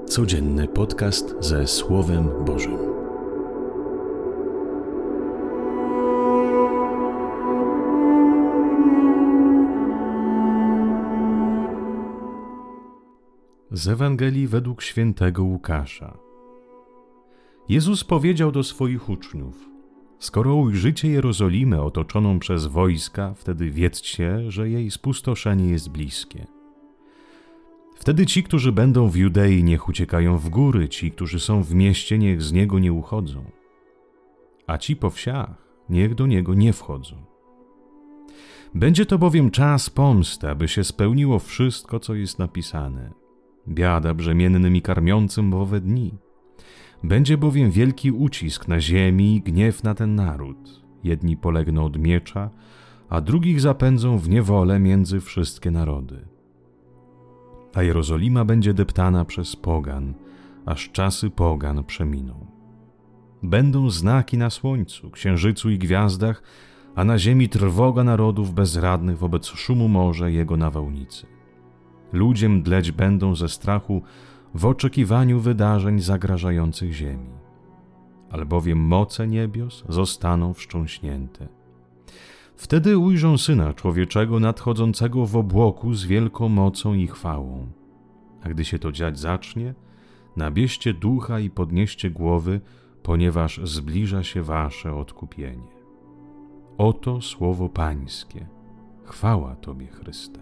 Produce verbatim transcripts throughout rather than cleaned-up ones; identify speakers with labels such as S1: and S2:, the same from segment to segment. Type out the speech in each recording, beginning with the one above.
S1: Codzienny podcast ze Słowem Bożym. Z Ewangelii według świętego Łukasza. Jezus powiedział do swoich uczniów: skoro ujrzycie Jerozolimę otoczoną przez wojska, wtedy wiedzcie, że jej spustoszenie jest bliskie. Wtedy ci, którzy będą w Judei, niech uciekają w góry, ci, którzy są w mieście, niech z niego nie uchodzą, a ci po wsiach, niech do niego nie wchodzą. Będzie to bowiem czas pomsty, aby się spełniło wszystko, co jest napisane. Biada brzemiennym i karmiącym w owe dni. Będzie bowiem wielki ucisk na ziemi i gniew na ten naród. Jedni polegną od miecza, a drugich zapędzą w niewolę między wszystkie narody. A Jerozolima będzie deptana przez pogan, aż czasy pogan przeminą. Będą znaki na słońcu, księżycu i gwiazdach, a na ziemi trwoga narodów bezradnych wobec szumu morza i jego nawałnicy. Ludzie mdleć będą ze strachu w oczekiwaniu wydarzeń zagrażających ziemi. Albowiem moce niebios zostaną wstrząśnięte. Wtedy ujrzą Syna Człowieczego nadchodzącego w obłoku z wielką mocą i chwałą. A gdy się to dziać zacznie, nabierzcie ducha i podnieście głowy, ponieważ zbliża się wasze odkupienie. Oto słowo Pańskie. Chwała Tobie, Chryste.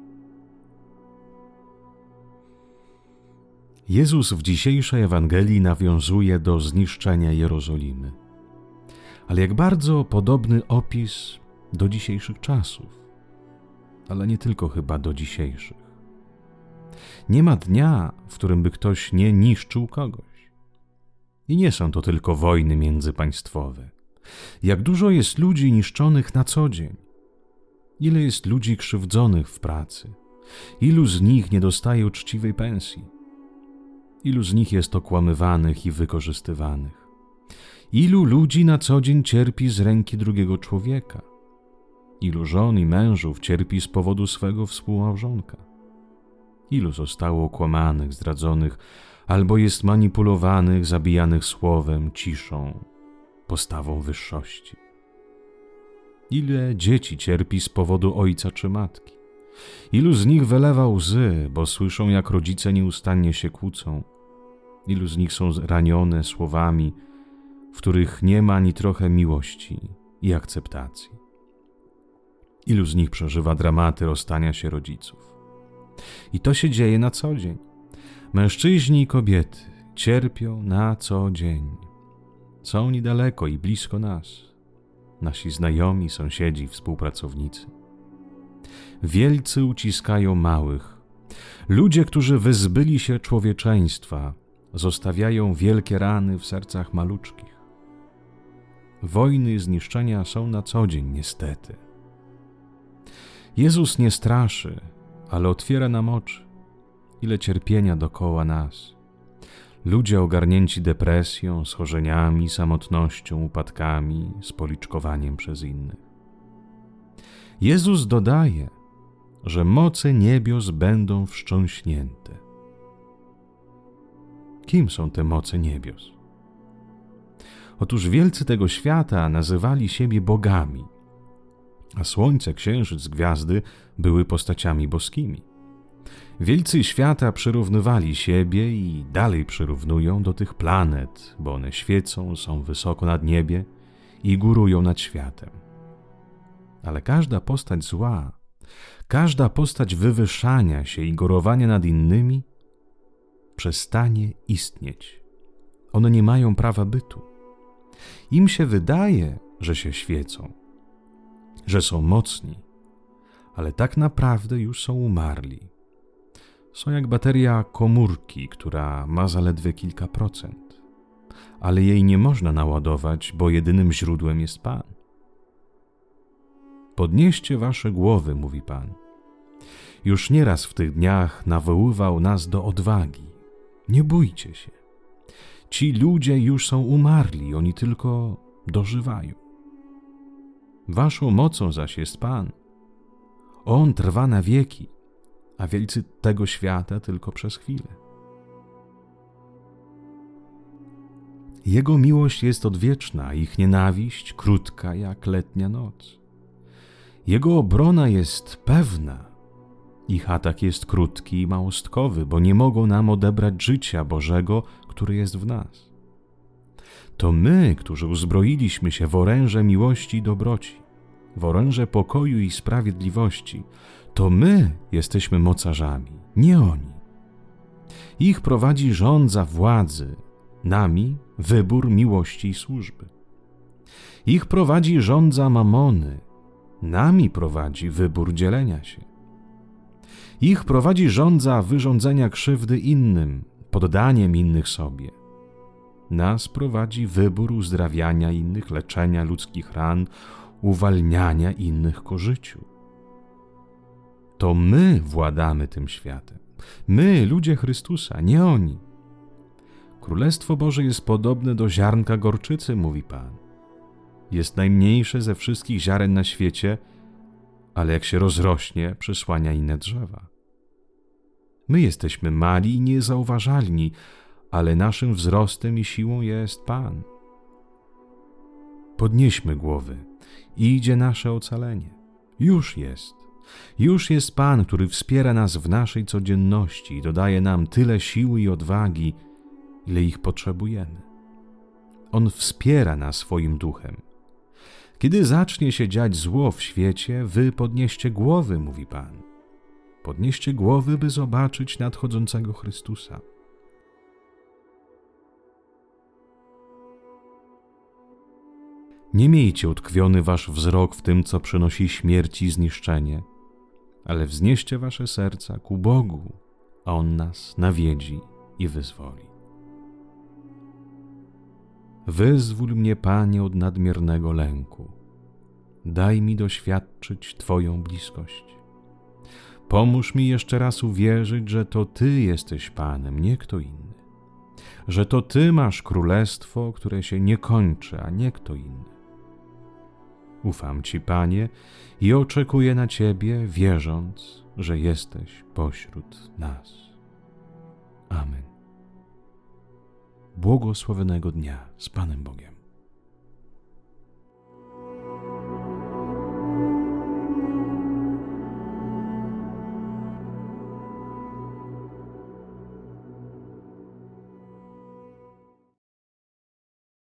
S1: Jezus w dzisiejszej Ewangelii nawiązuje do zniszczenia Jerozolimy. Ale jak bardzo podobny opis do dzisiejszych czasów. Ale nie tylko chyba do dzisiejszych. Nie ma dnia, w którym by ktoś nie niszczył kogoś. I nie są to tylko wojny międzypaństwowe. Jak dużo jest ludzi niszczonych na co dzień. Ile jest ludzi krzywdzonych w pracy. Ilu z nich nie dostaje uczciwej pensji. Ilu z nich jest okłamywanych i wykorzystywanych. Ilu ludzi na co dzień cierpi z ręki drugiego człowieka. Ilu żon i mężów cierpi z powodu swego współmałżonka. Ilu zostało okłamanych, zdradzonych, albo jest manipulowanych, zabijanych słowem, ciszą, postawą wyższości. Ile dzieci cierpi z powodu ojca czy matki. Ilu z nich wylewa łzy, bo słyszą, jak rodzice nieustannie się kłócą. Ilu z nich są ranione słowami, w których nie ma ani trochę miłości i akceptacji. Ilu z nich przeżywa dramaty rozstania się rodziców. I to się dzieje na co dzień. Mężczyźni i kobiety cierpią na co dzień. Są niedaleko i blisko nas. Nasi znajomi, sąsiedzi, współpracownicy. Wielcy uciskają małych. Ludzie, którzy wyzbyli się człowieczeństwa, zostawiają wielkie rany w sercach maluczkich. Wojny i zniszczenia są na co dzień, niestety. Jezus nie straszy, ale otwiera nam oczy. Ile cierpienia dokoła nas. Ludzie ogarnięci depresją, schorzeniami, samotnością, upadkami, spoliczkowaniem przez innych. Jezus dodaje, że moce niebios będą wstrząśnięte. Kim są te moce niebios? Otóż wielcy tego świata nazywali siebie bogami, a słońce, księżyc, gwiazdy były postaciami boskimi. Wielcy świata przyrównywali siebie i dalej przyrównują do tych planet, bo one świecą, są wysoko nad niebie i górują nad światem. Ale każda postać zła, każda postać wywyższania się i górowania nad innymi przestanie istnieć. One nie mają prawa bytu. Im się wydaje, że się świecą, że są mocni, ale tak naprawdę już są umarli. Są jak bateria komórki, która ma zaledwie kilka procent, ale jej nie można naładować, bo jedynym źródłem jest Pan. Podnieście wasze głowy, mówi Pan. Już nieraz w tych dniach nawoływał nas do odwagi. Nie bójcie się. Ci ludzie już są umarli, oni tylko dożywają. Waszą mocą zaś jest Pan. On trwa na wieki, a wielcy tego świata tylko przez chwilę. Jego miłość jest odwieczna, ich nienawiść krótka jak letnia noc. Jego obrona jest pewna, ich atak jest krótki i małostkowy, bo nie mogą nam odebrać życia Bożego, który jest w nas. To my, którzy uzbroiliśmy się w oręże miłości i dobroci, w oręże pokoju i sprawiedliwości, to my jesteśmy mocarzami, nie oni. Ich prowadzi rządza władzy, nami wybór miłości i służby. Ich prowadzi rządza mamony, nami prowadzi wybór dzielenia się. Ich prowadzi rządza wyrządzenia krzywdy innym, poddaniem innych sobie. Nas prowadzi wybór uzdrawiania innych, leczenia ludzkich ran, uwalniania innych ku życiu. To my władamy tym światem. My, ludzie Chrystusa, nie oni. Królestwo Boże jest podobne do ziarnka gorczycy, mówi Pan. Jest najmniejsze ze wszystkich ziaren na świecie, ale jak się rozrośnie, przysłania inne drzewa. My jesteśmy mali i niezauważalni, ale naszym wzrostem i siłą jest Pan. Podnieśmy głowy, idzie nasze ocalenie. Już jest. Już jest Pan, który wspiera nas w naszej codzienności i dodaje nam tyle siły i odwagi, ile ich potrzebujemy. On wspiera nas swoim duchem. Kiedy zacznie się dziać zło w świecie, wy podnieście głowy, mówi Pan. Podnieście głowy, by zobaczyć nadchodzącego Chrystusa. Nie miejcie utkwiony wasz wzrok w tym, co przynosi śmierć i zniszczenie, ale wznieście wasze serca ku Bogu, a On nas nawiedzi i wyzwoli. Wyzwól mnie, Panie, od nadmiernego lęku. Daj mi doświadczyć Twoją bliskość. Pomóż mi jeszcze raz uwierzyć, że to Ty jesteś Panem, nie kto inny. Że to Ty masz królestwo, które się nie kończy, a nie kto inny. Ufam Ci, Panie, i oczekuję na Ciebie, wierząc, że jesteś pośród nas. Amen. Błogosławionego dnia z Panem Bogiem.